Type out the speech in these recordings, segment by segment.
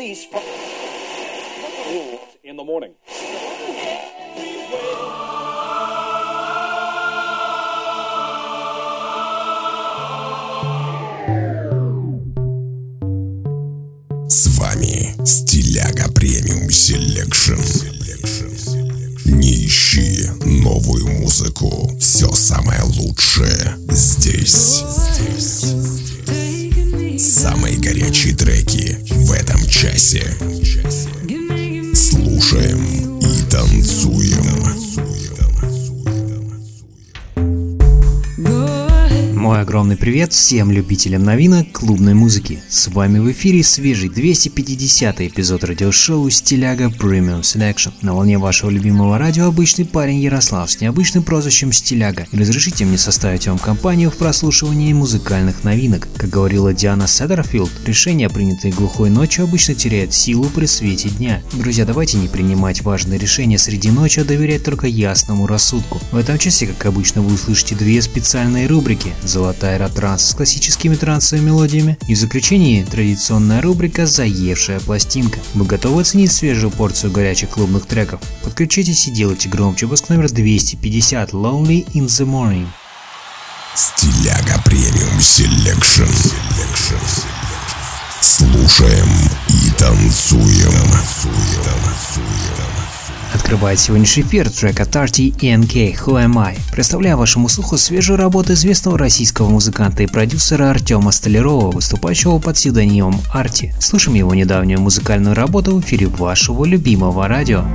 release from in the morning. С вами Стиляга Премиум Селекшн. Не ищи новую музыку. Все самое лучшее здесь. Самые горячие треки в этом часе. Слушаем и танцуем. Мой огромный привет всем любителям новинок клубной музыки. С вами в эфире свежий 250-й эпизод радиошоу Стиляга Premium Selection. На волне вашего любимого радио обычный парень Ярослав с необычным прозвищем Стиляга. И разрешите мне составить вам компанию в прослушивании музыкальных новинок. Как говорила Диана Седерфилд, решения, принятые глухой ночью, обычно теряют силу при свете дня. Друзья, давайте не принимать важные решения среди ночи, а доверять только ясному рассудку. В этом часе, как обычно, вы услышите две специальные рубрики: «Золотая эра-транс» с классическими трансовыми мелодиями, и в заключении традиционная рубрика «Заевшая пластинка». Вы готовы оценить свежую порцию горячих клубных треков? Подключитесь и делайте громче. Выпуск номер 250 «Lonely in the Morning». Стиляга Премиум Селекшн. Слушаем и танцуем. Открывает сегодняшний эфир трек от Arty и NK «Who Am I?». Представляю вашему слуху свежую работу известного российского музыканта и продюсера Артема Столярова, выступающего под псевдонимом Arty. Слушаем его недавнюю музыкальную работу в эфире вашего любимого радио.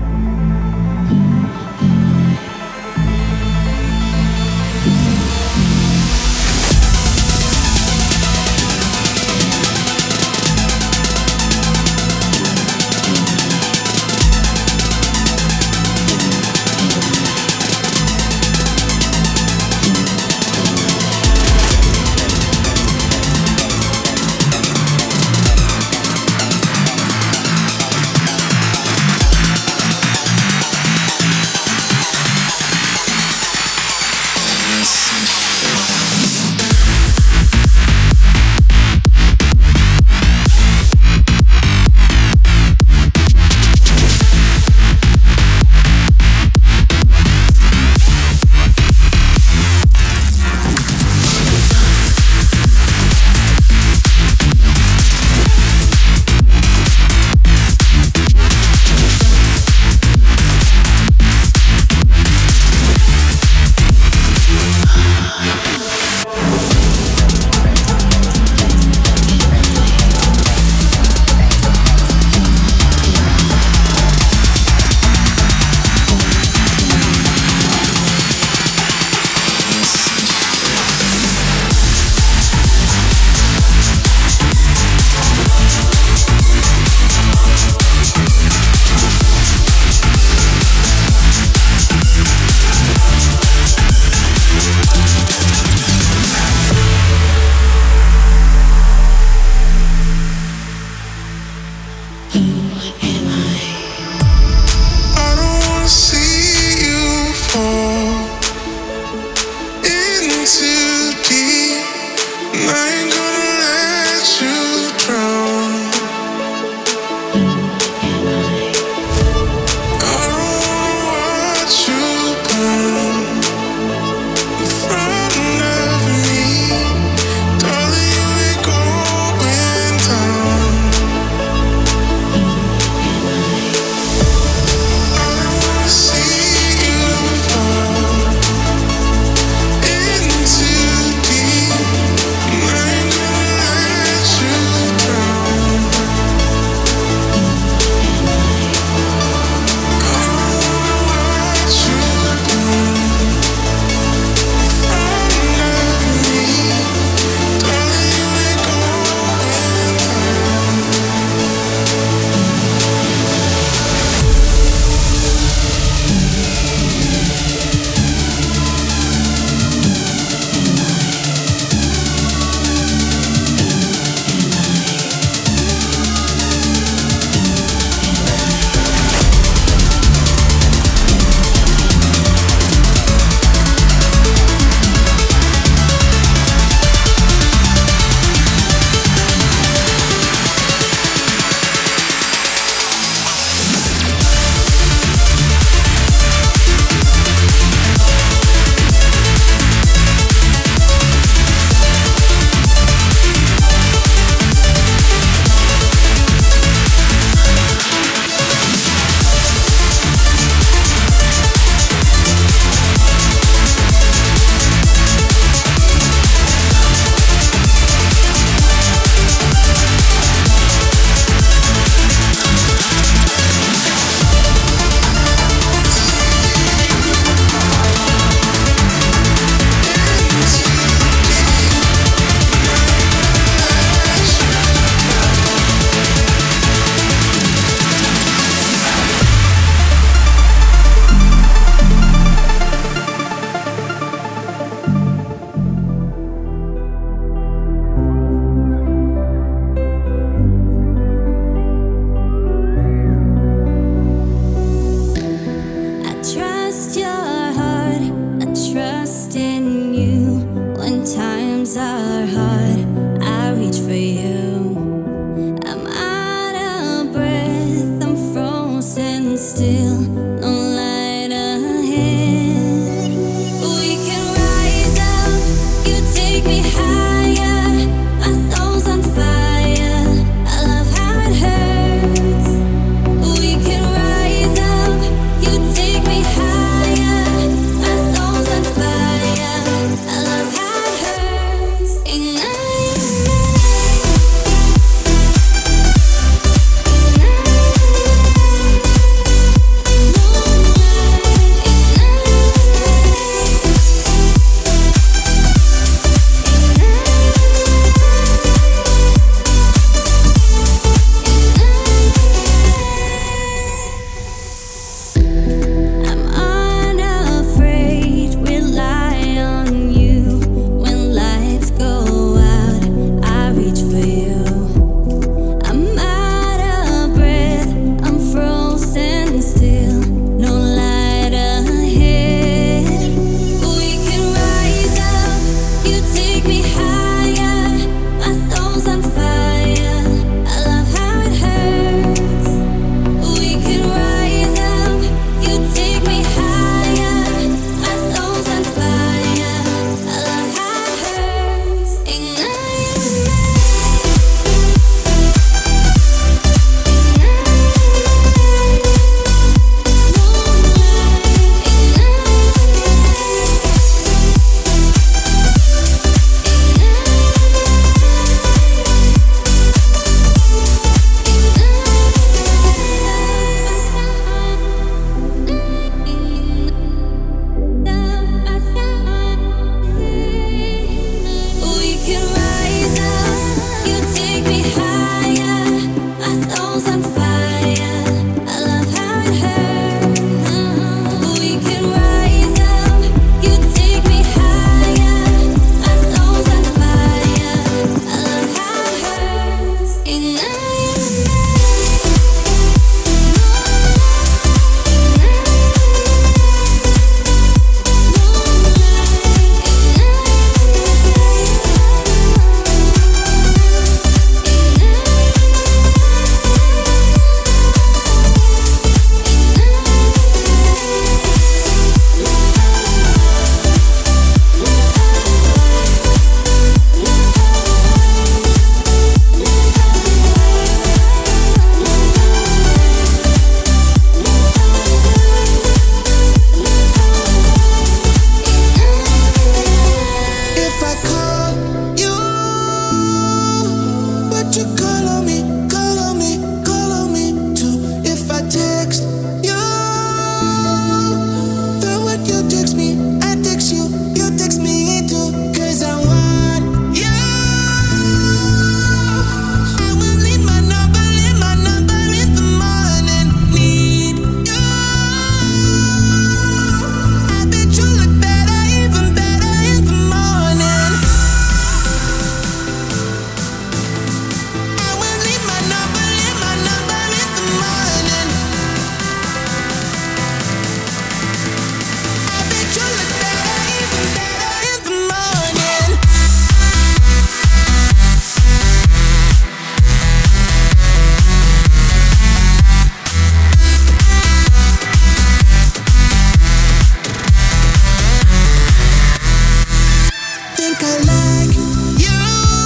like I like you.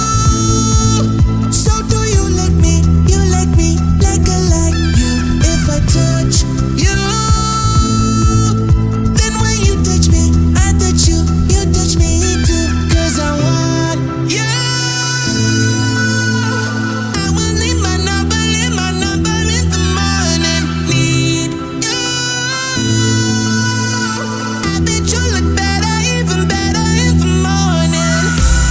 So do you like me? You like me like I like you. If I touch you, then when you touch me, I touch you. You touch me too. 'Cause I want you. I will leave my number in the morning. Need you. I bet you look better, even better in the morning.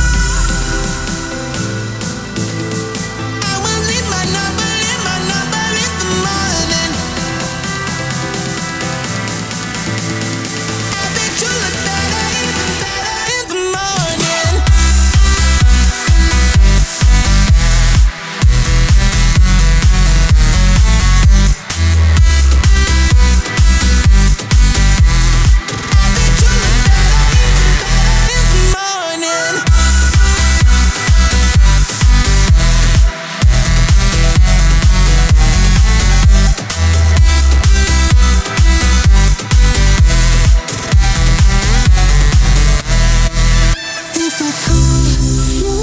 I will leave my number in the morning. I bet you look better, even better in the morning. If I call you,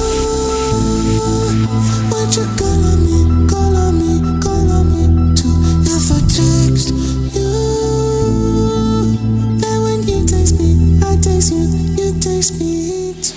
would you call on me, call on me, call on me too? If I text you, then when you text me, I text you, you text me too.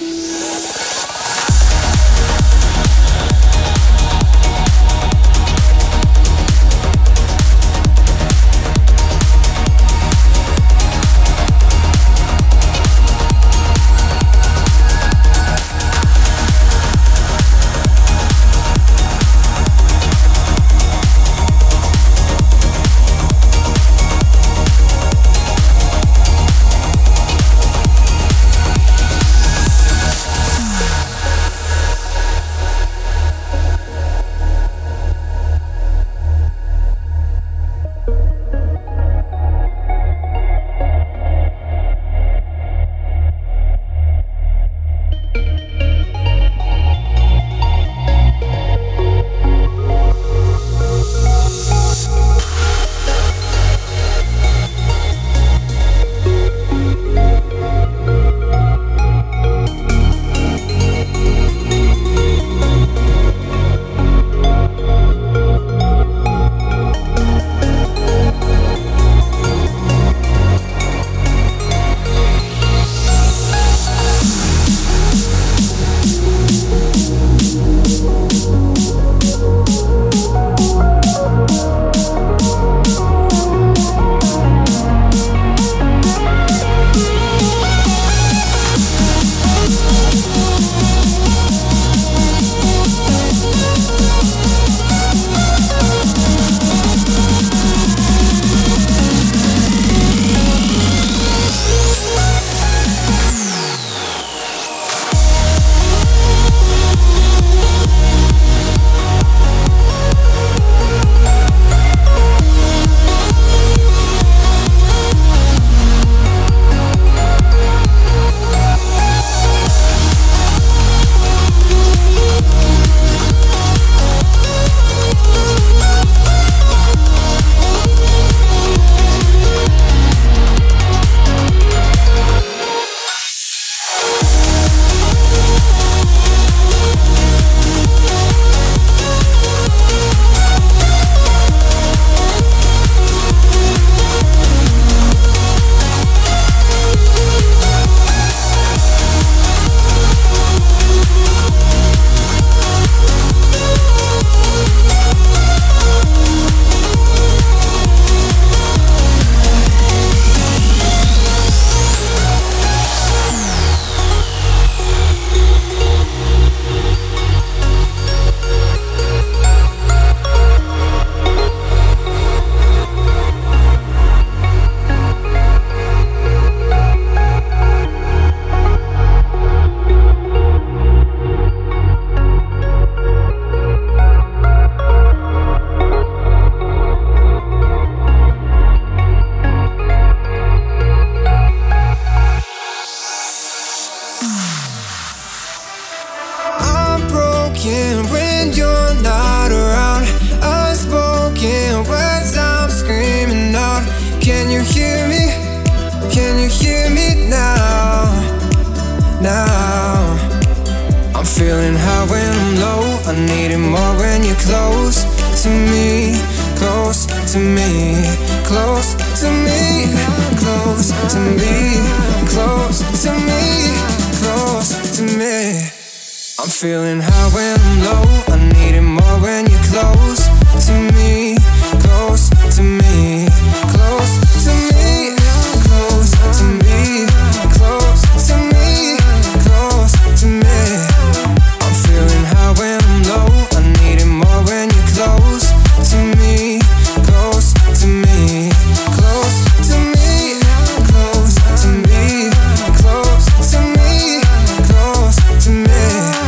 Can you hear me now? I'm feeling high when I'm low. I need it more when you're close to me, close to me, close to me, close to me, close to me, close to me. I'm feeling high when I'm low. I need it more when you're close to me, close to me, close to me, close to me, close to me, close to me. I'm feeling high when I'm low. I need it more when you're close to me, close to me, close to me, close to me, close to me, close to me.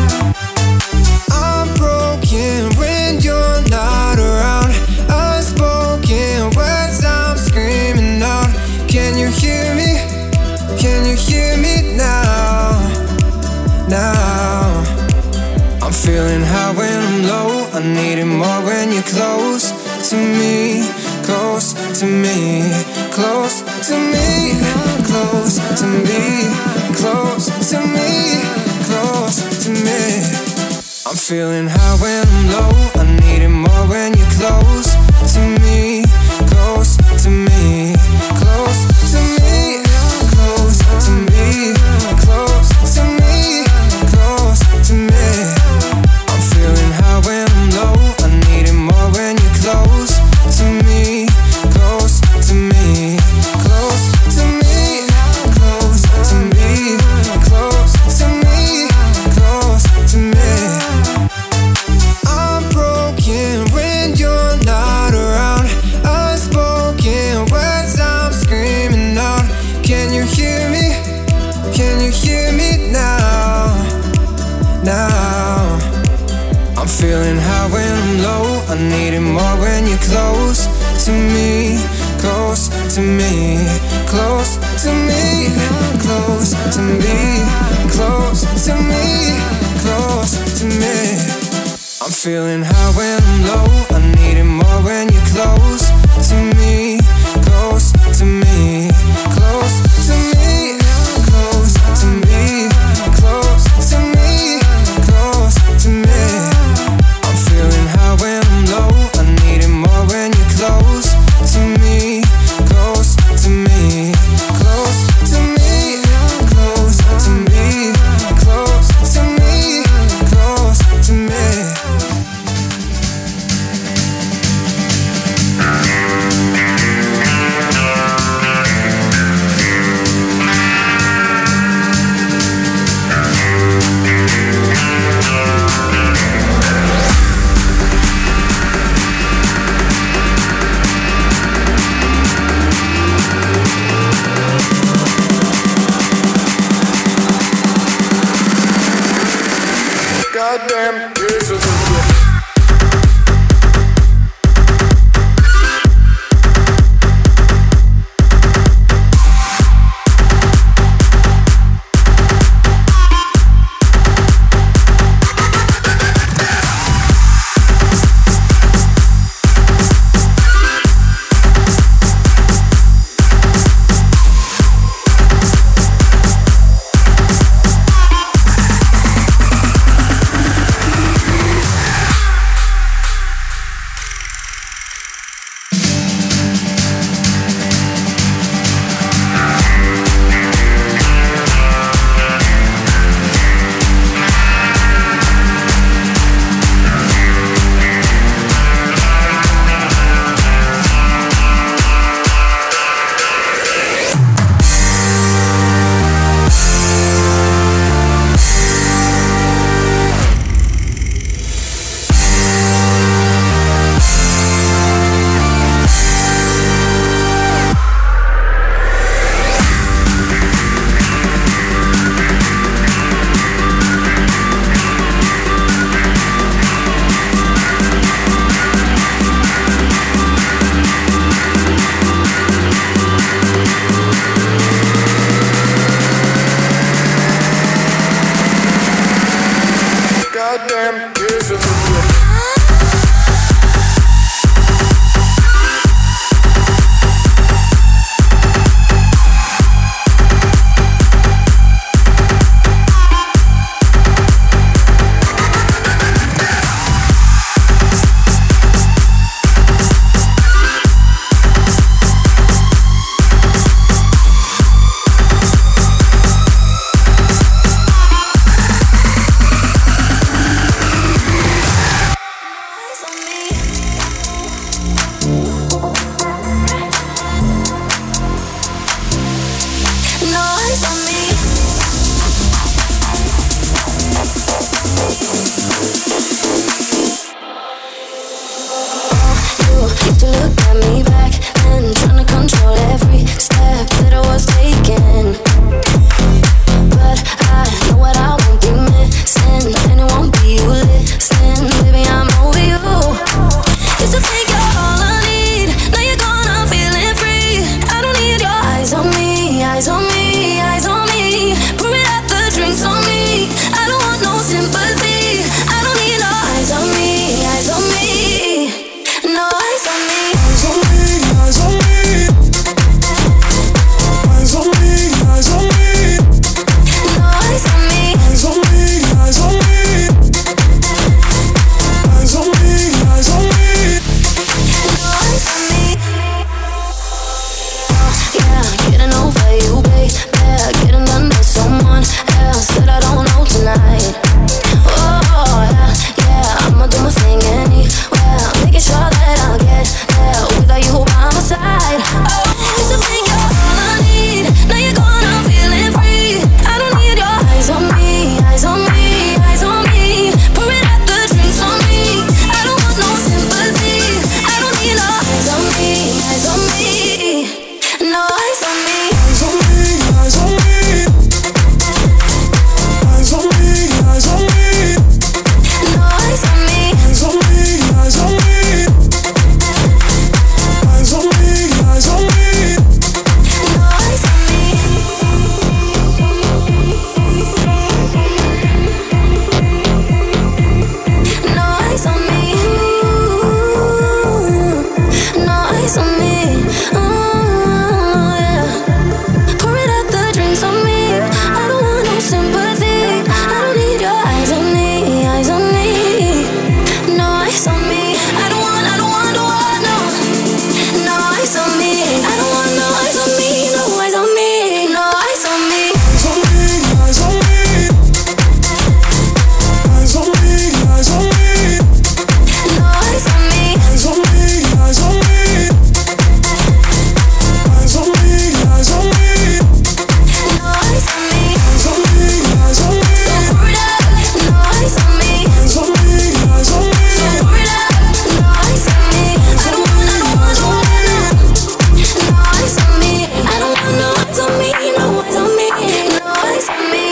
I'm broken when you're not around. Unspoken words I'm screaming out. Can you hear me? Can you hear me now? Now I'm feeling high when I'm low. I need it more when you're close to me, close to me, close to me, close to me, close to me, close to me. I'm feeling high when I'm low. I need it more when you're close to me, close to me, close to me, close to me, close to me, close to me. I'm feeling high when I'm low. I need it more when you're close to me, close to me, close to me, close to me, close to me, close to me. I'm broken when you're not around. Unspoken words I'm screaming out. Can you hear me? Can you hear me now? Now I'm feeling high when I'm low. I need it more when you're close to me, close to me, close to me, close to me, close to me, close to me. I'm feeling high when I'm low. I need it more when you're close to me, close to me, close to me, close to me, close to me, close to me. I'm feeling high when I'm low. I need it more when you're close to me, close to me, close to me, close to me, close to me, close to me. Goddamn tears of the got me back and trying to control every step that I was taking. But I know what I won't be missing, and it won't be you listening. Baby, I'm over you. Used to think you're all I need, now you're gone, I'm feeling free. I don't need your eyes on me, eyes on me, eyes on me. Pour it out the drinks on me. I don't want no sympathy. I don't need no eyes on me, eyes on me. No eyes on me. Eyes on me, eyes on me. Eyes on me, eyes on me. No eyes on me. Eyes on me, eyes on me. Eyes on me, eyes on me. No eyes on me. Yeah, getting over you, babe. Yeah, getting under someone else that I don't know tonight. Oh, yeah, I'ma do my thing anywhere, making sure that I'll get there without you by my side. Used to think you're all I need, now you're gone, I'm feeling free. I don't need your eyes on me, eyes on me, eyes on me. Pouring out the drinks on me. I don't want no sympathy. I don't need no eyes on me, eyes on me. No eyes on me. Eyes on me, eyes on me. Eyes on me, eyes on me. No eyes on me. Eyes on me, eyes on me. Eyes on me, eyes on me. No eyes on me. No eyes on me. No eyes on me. Yeah. Pour it out the drinks on me. I don't want no sympathy. I don't need your eyes on me, eyes on me. No eyes on me. I don't want, no. No eyes on me. I don't want no eyes on me, no eyes on me. No eyes on me. Eyes on me, eyes on me. Eyes on me, eyes on me. No eyes on me. Eyes on me, eyes on me. Eyes on me, eyes on me. No eyes on me. Eyes on me, eyes on me. So pour it up. No eyes on me. Eyes on me, eyes on me. So pour it up. No eyes on me. I don't want, no. No eyes on me. I don't want no eyes on me, no eyes on me. No eyes on me.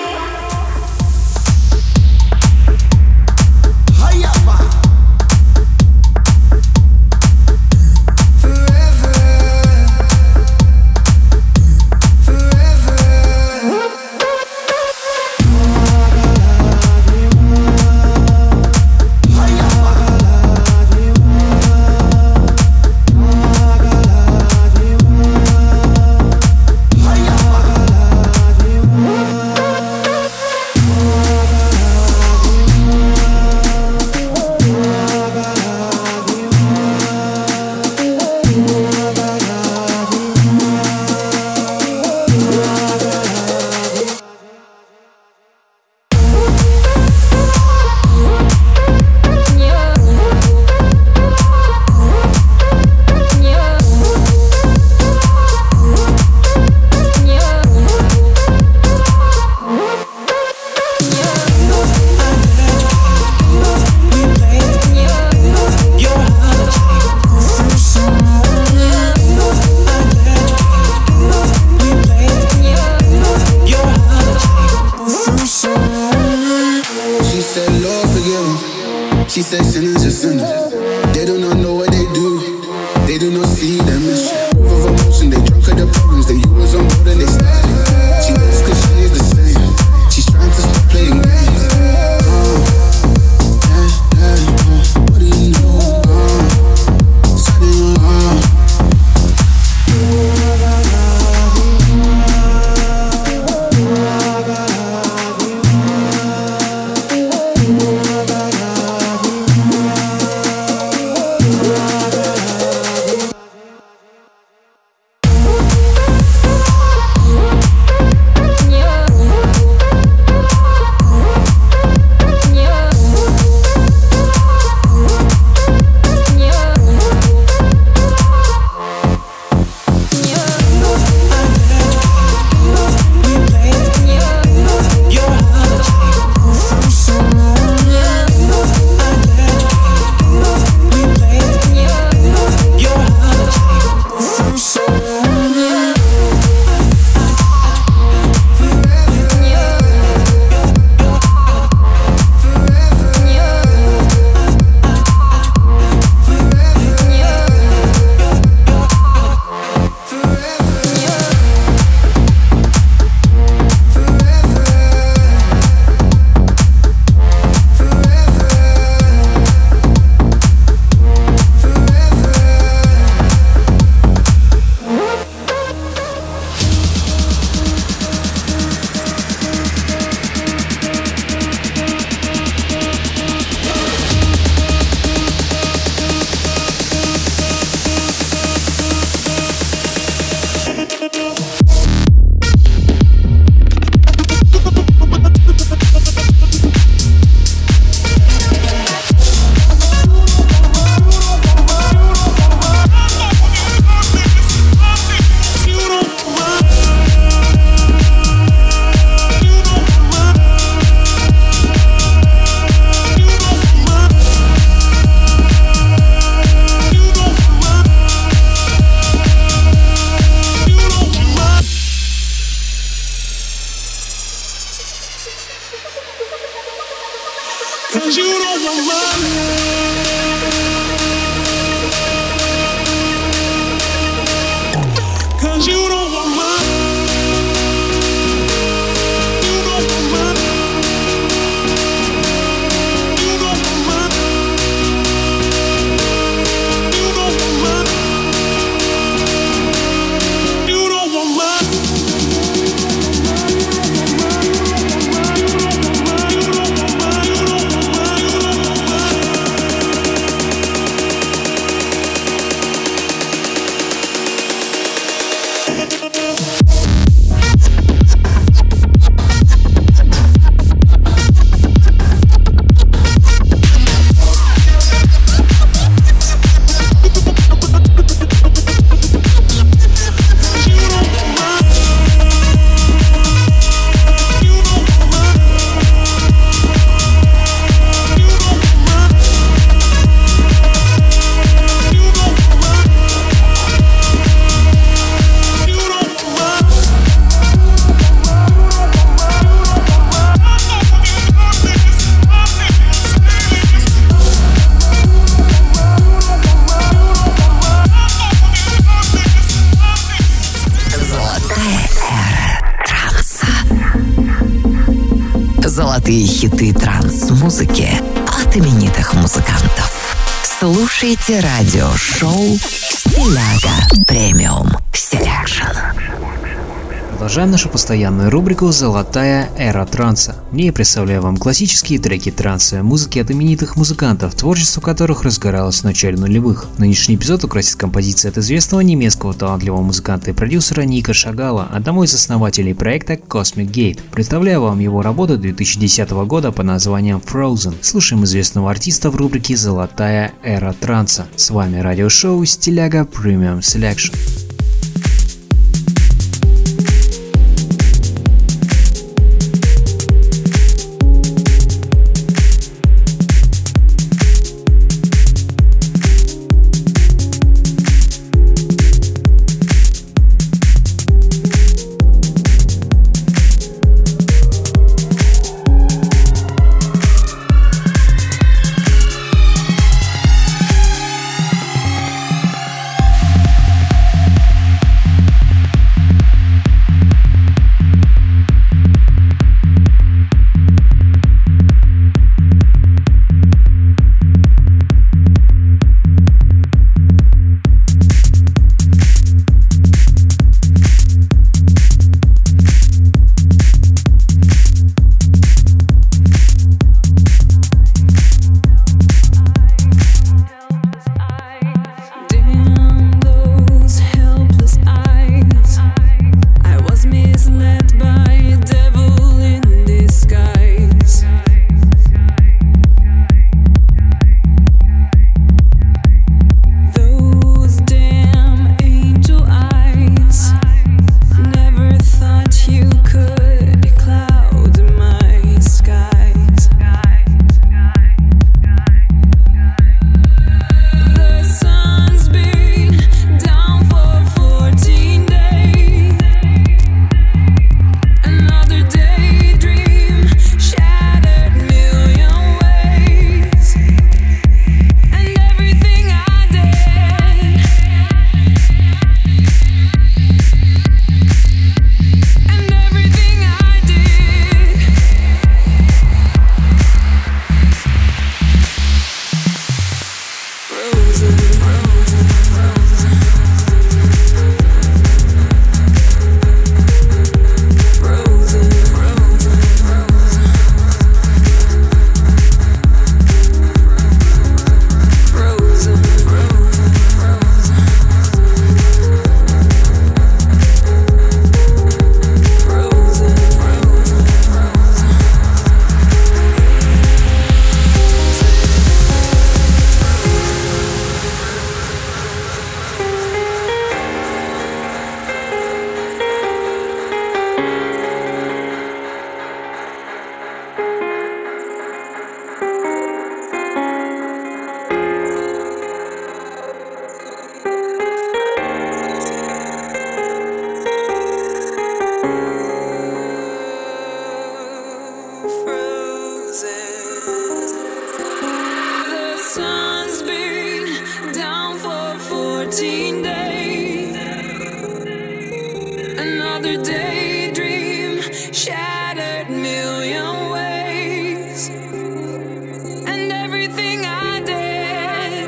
She said sinners are sinners. They do not know what they do. They do not see the mission. Full of emotion, they drunk at the problems. They was on board and they started. She knows cause she is the same. She's trying to stop playing games. What do you know? 'Cause you don't want mine. 'Cause you don't want mine. You don't want mine. You don't want mine. You don't want mine. You don't want mine. Золотые хиты транс-музыки от именитых музыкантов. Слушайте радиошоу «Стиляга Премиум Селекшн». Продолжаем нашу постоянную рубрику «Золотая эра транса». В ней я представляю вам классические треки трансовой музыки от именитых музыкантов, творчество которых разгоралось в начале нулевых. Нынешний эпизод украсит композиция от известного немецкого талантливого музыканта и продюсера Ника Шагала, одного из основателей проекта Cosmic Gate. Представляю вам его работу 2010 года под названием Frozen. Слушаем известного артиста в рубрике «Золотая эра транса». С вами радиошоу «Стиляга Премиум Селекшн». routine day, another daydream, shattered million ways, and everything I did,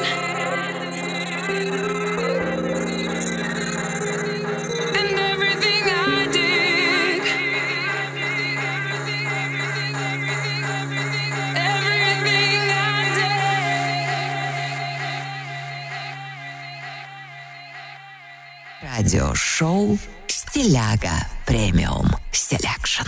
and everything I did, everything I did. Радиошоу «Стиляга Премиум Селекшн».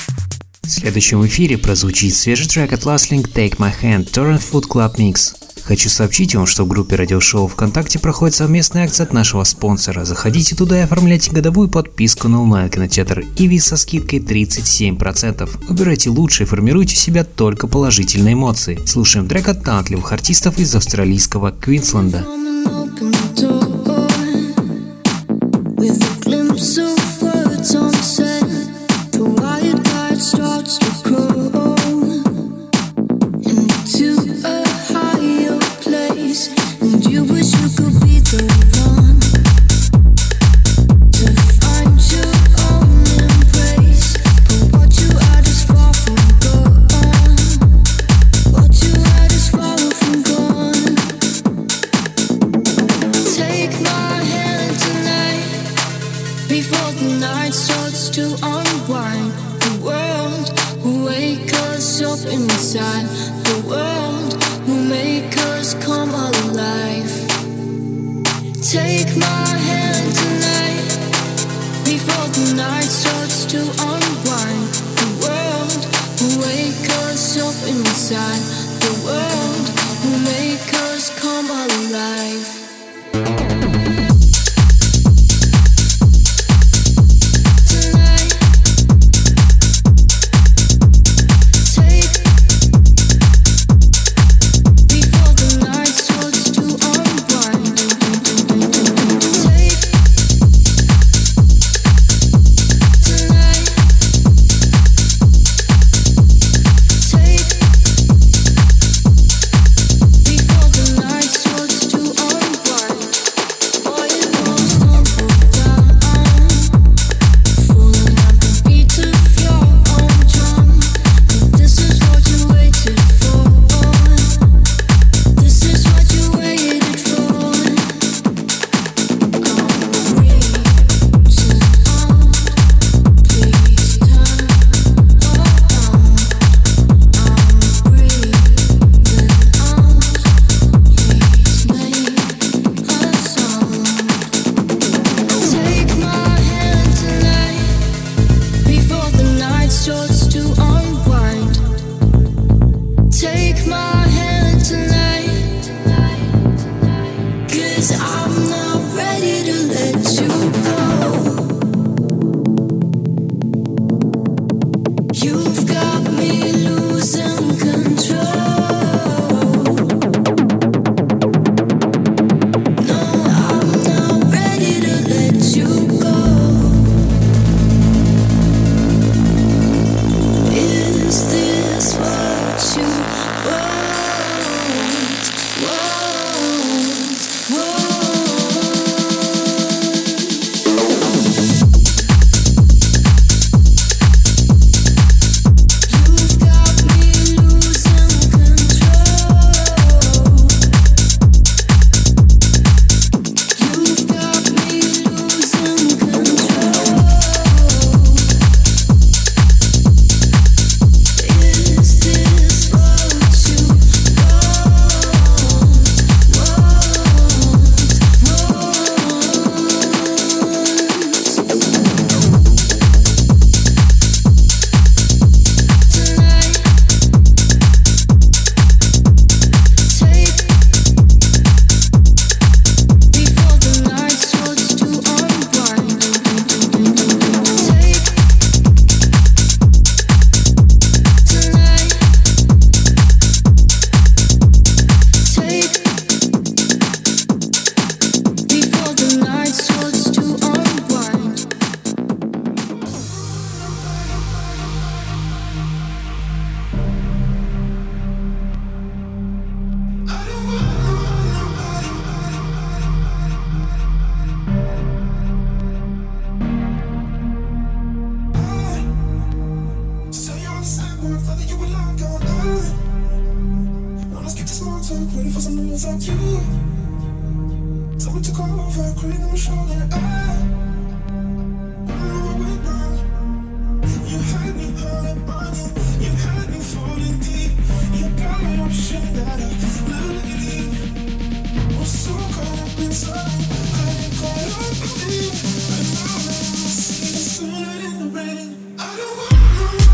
В следующем эфире прозвучит свежий трек от Last Link Take My Hand Torrent Food Club Mix. Хочу сообщить вам, что в группе радиошоу ВКонтакте проходит совместная акция от нашего спонсора. Заходите туда и оформляйте годовую подписку на онлайн-кинотеатр Иви со скидкой 37%. Выбирайте лучше и формируйте в себя только положительные эмоции. Слушаем трек от талантливых артистов из австралийского Квинсленда.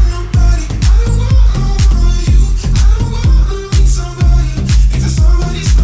Somebody's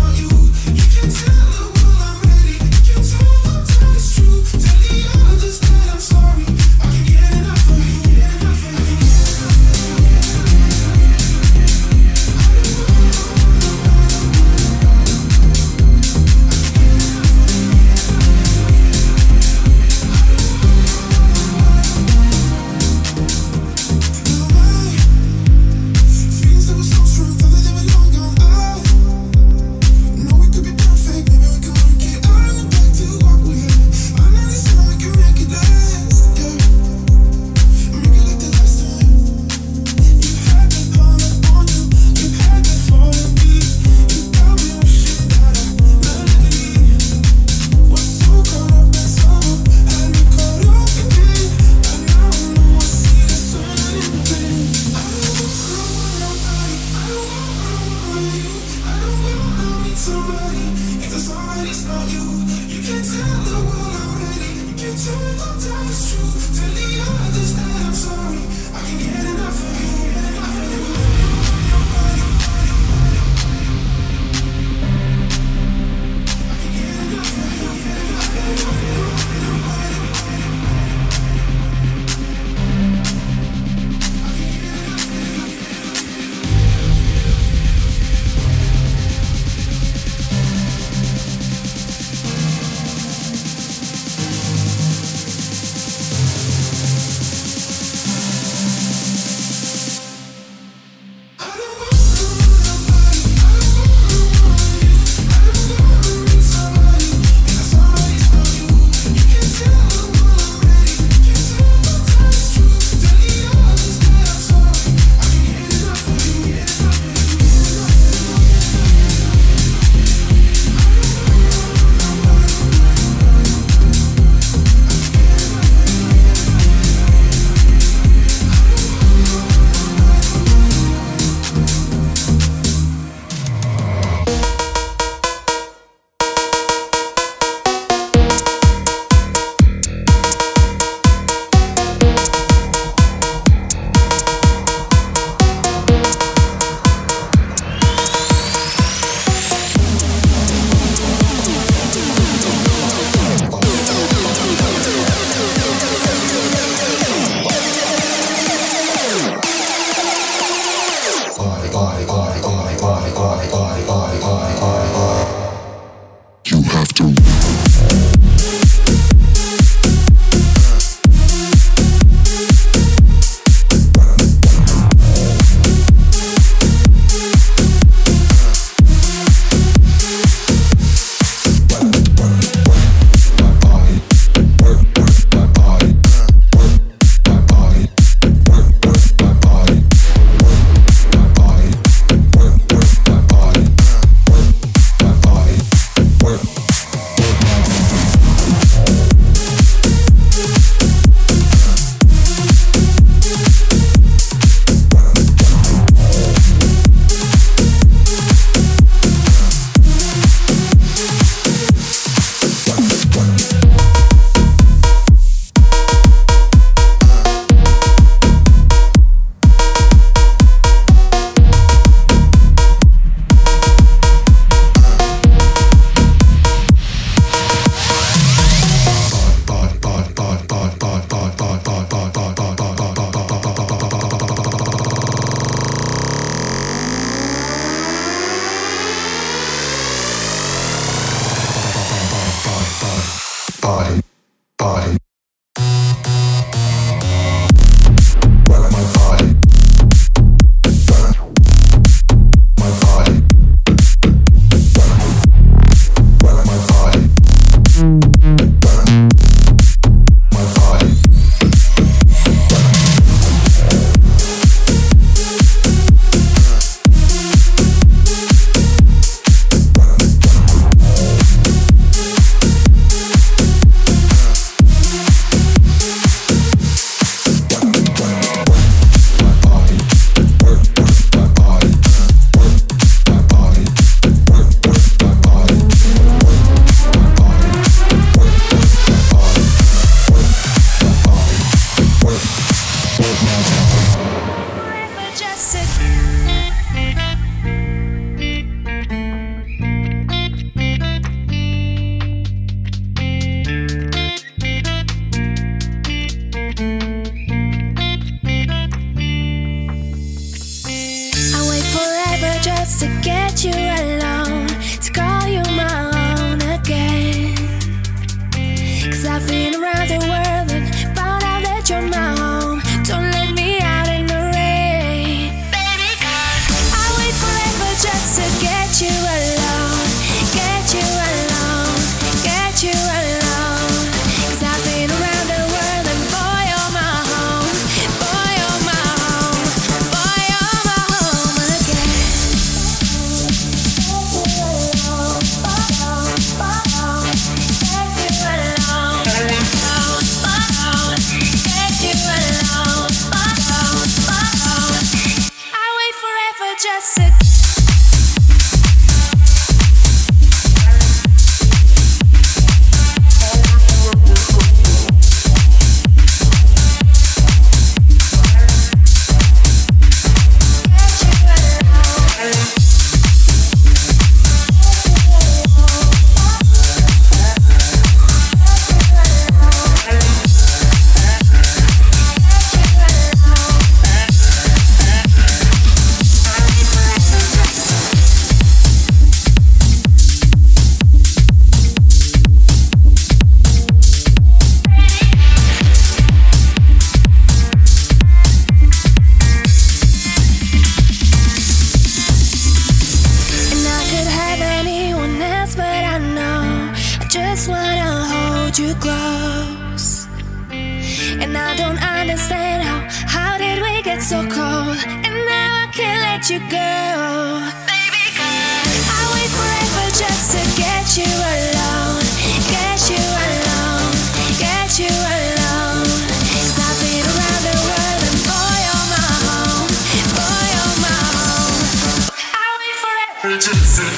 you close. And I don't understand how did we get so cold? And now I can't let you go. Baby girl, I wait forever just to get you alone. Get you alone. Get you alone. 'Cause I've been around the world and boy, you're my home. Boy, you're my home. I wait forever just to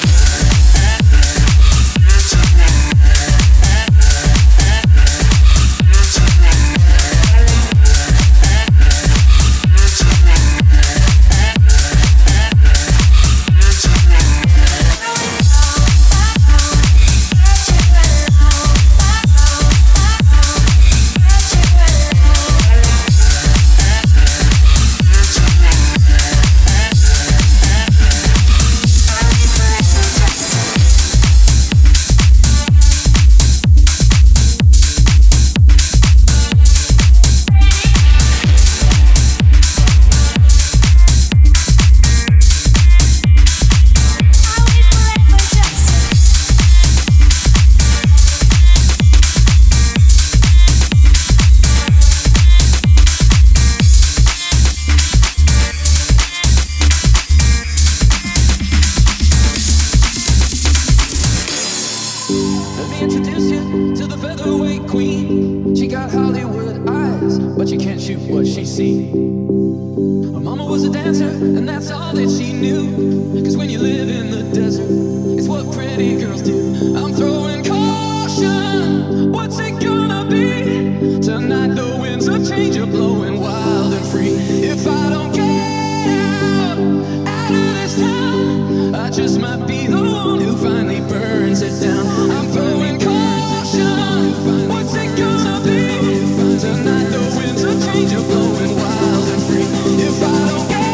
introduce you to the featherweight queen. She got Hollywood eyes, but you can't shoot what she seen. Her mama was a dancer, and that's all that she knew. 'Cause when you live in the desert, it's what pretty girls do. I'm throwing caution, what's it gonna be? Tonight the winds of change are blowing wild and free. If I don't get out of this town, I just might be the one who finally burns it down. I'm throwing caution, what's it gonna be? Tonight the winds of change are blowing wild and free. If I don't get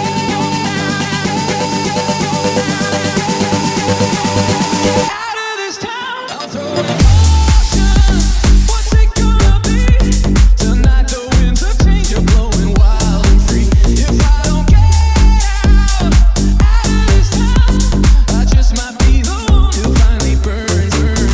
out of this town, I'm throwing caution, what's it gonna be? Tonight the winds of change are blowing wild and free. If I don't get out of this town, I just might be the one who finally burns.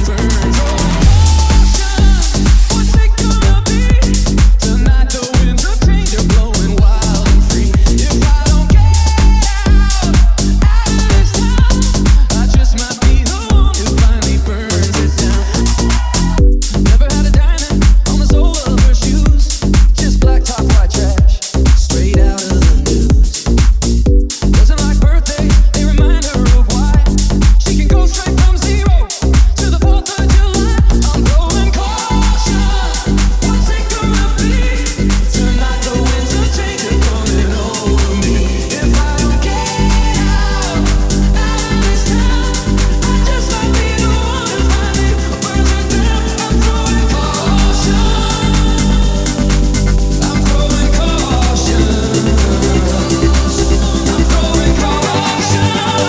What's it gonna be? Tonight the winds of change are blowing wild and free. If I don't get out of this town, I just might be the one who finally burns it down. Never had a diamond on the sole of her shoes, just black top, white trash, straight out of the news. Doesn't like birthdays, they remind her of why she can go straight from 0 to the 4th of July. I'm throwing caution, what's it gonna be? Tonight the winds of change are coming over me. If I don't get out of this town, I just might be the one who finally burns it down. I'm throwing caution, I'm throwing caution, I'm throwing caution,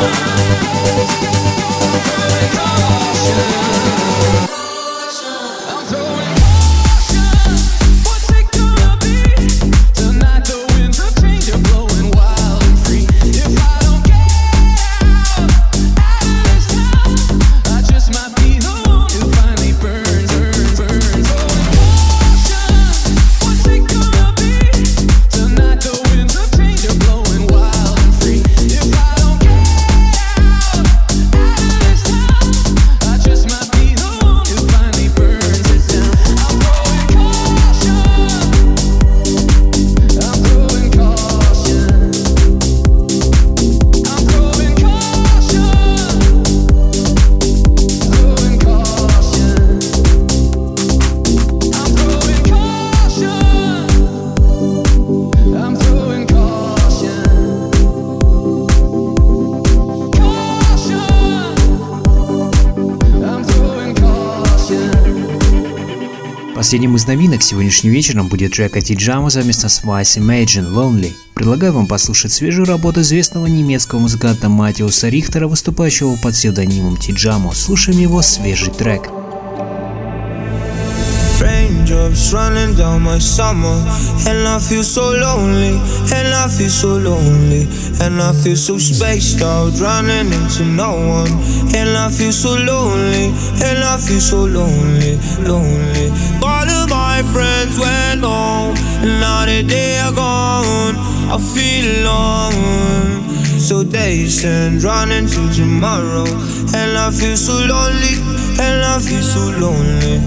I'm throwing caution, what's it gonna be? Tonight the winds of change are blowing wild and free. If I don't get out of this town, I just might be the one who finally burns. Throwing caution, what's it gonna be? Tonight the winds of change are blowing wild and free. If I don't get out of this town, I just might be the one who finally burns it down. I'm throwing caution, I'm throwing caution, I'm throwing caution, throwing caution, I'm throwing caution, I'm throwing caution, I'm throwing caution. Последним из новинок сегодняшним вечером будет трек от T-Jamo совместно с Vice Imagine Lonely. Предлагаю вам послушать свежую работу известного немецкого музыканта Матиуса Рихтера, выступающего под псевдонимом T-Jamo. Слушаем его свежий трек. Stranger Raindrops running down my summer, and I feel so lonely, and I feel so lonely, and I feel so spaced out, running into no one, and I feel so lonely, and I feel so lonely, lonely. All of my friends went home, and now that they are gone, I feel alone. So days and running to tomorrow, and I feel so lonely, and I feel so lonely.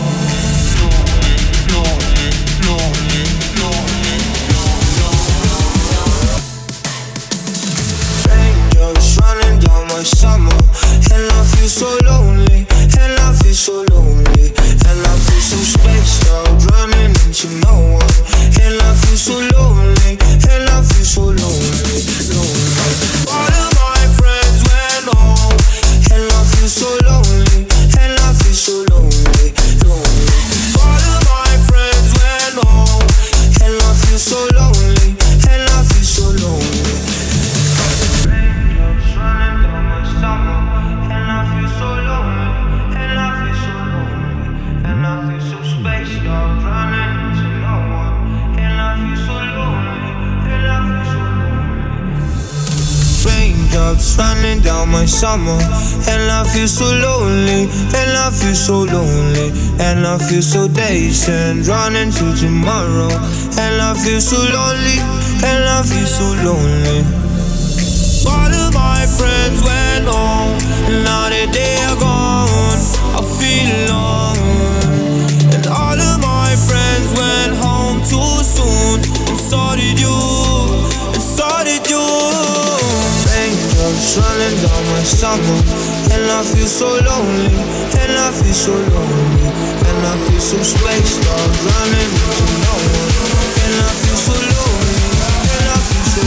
Raindrops running down my summer, and I feel so lonely, and I feel so lonely, and I feel so spaced out, running into no one, and I feel so lonely, and I feel so lonely, lonely. All of my friends went home, and I feel so lonely, and I feel so lonely, lonely. All of my friends went home, and I feel so lonely, and I feel so lonely. Raindrops running down my summer, and I feel so lonely, and I feel so lonely, and I feel so spaced out, running into no one, and I feel so lonely, and I feel so lonely. Raindrops running down my summer, and I feel so lonely, and I feel so lonely, and I feel so dazed and running to tomorrow, and I feel so lonely, and I feel so lonely. All of my friends went home, and now that they are gone, I feel alone. And all of my friends went home too soon, and so did you, and so did you. Raindrops running down my summer, and I feel so lonely, and I feel so lonely, and I feel so spaced out, running into no one, and I feel so lonely, and I feel so.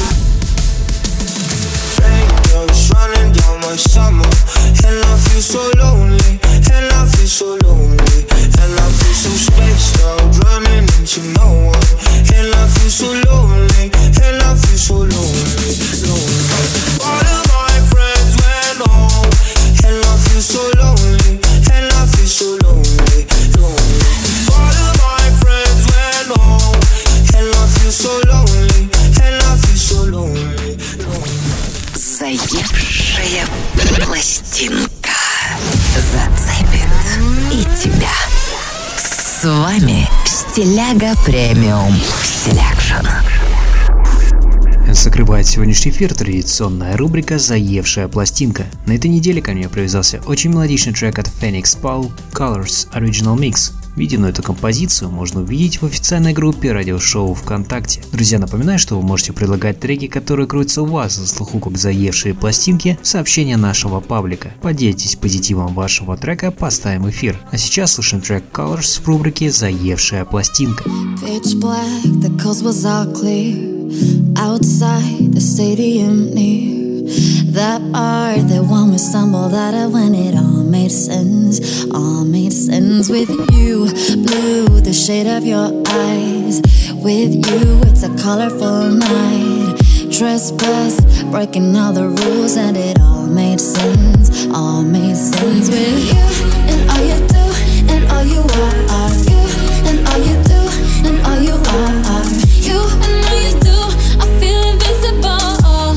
Raindrops running down my summer, and I feel so lonely, and I feel so lonely, and I feel so spaced out, running into no one, and I feel so lonely, and I feel so lonely, lonely. All of my friends went home, and I feel so lonely, and I feel so lonely, lonely. All of my friends went home, and I feel so lonely, and I feel so lonely, lonely. Заевшая пластинка зацепит и тебя. С вами Стиляга Премиум Селекшн. Закрывает сегодняшний эфир традиционная рубрика «Заевшая пластинка». На этой неделе ко мне привязался очень мелодичный трек от Phoenix Paul Colors Original Mix. Видео на эту композицию можно увидеть в официальной группе радиошоу ВКонтакте. Друзья, напоминаю, что вы можете предлагать треки, которые крутятся у вас за слуху как заевшие пластинки, в сообщения нашего паблика. Поделитесь позитивом вашего трека, поставим эфир. А сейчас слушаем трек Colors в рубрике «Заевшая пластинка». Pitch black, the coast was all clear. Outside the stadium near that part, the one we stumbled out of when it all made sense with you. Blue, the shade of your eyes. With you, it's a colorful night. Trespass, breaking all the rules, and it all made sense with you. And all you do, and all you are you. And all you do, and all you are you. And all you do, I feel invincible.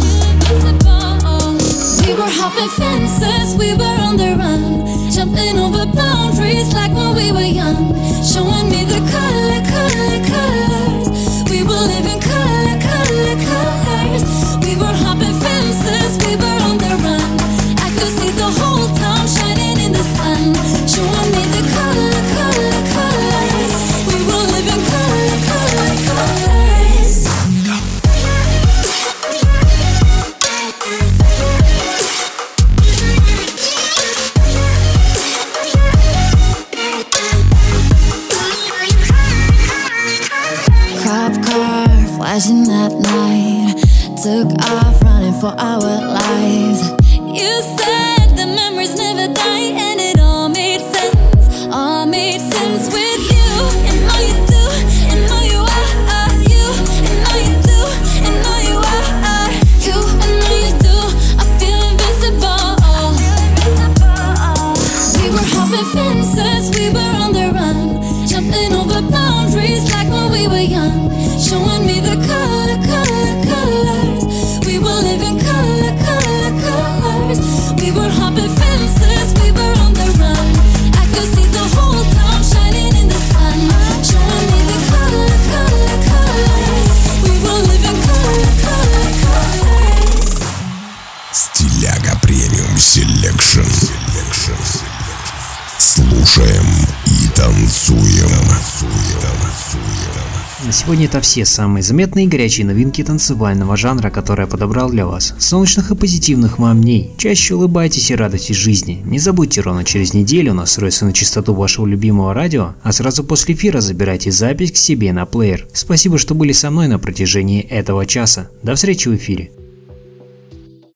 We were hopping fences, we were on the run, jumping over boundaries like when we were young. Showing me the colors. We were living colors. We were hopping fences, we were on the run. I could see the whole town shining in the sun. Showing me the colors. We were living colors. Flashing at night, took off running for our lives. You said the memories never die, and it all made sense with you. And all you do, and all you are you. And all you do, and all you are you. And all you do, I feel invincible. We were hopping fences, we were on the run, jumping over showing me the colors. We were living colors. We were hopping fences, we were on the run. I could see the whole town shining in the sun, showing me the colors. We were living colors. Стиляга премиум селекшн. Слушаем и танцуем. На сегодня это все самые заметные и горячие новинки танцевального жанра, которые я подобрал для вас. Солнечных и позитивных вам дней. Чаще улыбайтесь и радуйтесь жизни. Не забудьте, ровно через неделю настроиться на частоту вашего любимого радио, а сразу после эфира забирайте запись к себе на плеер. Спасибо, что были со мной на протяжении этого часа. До встречи в эфире.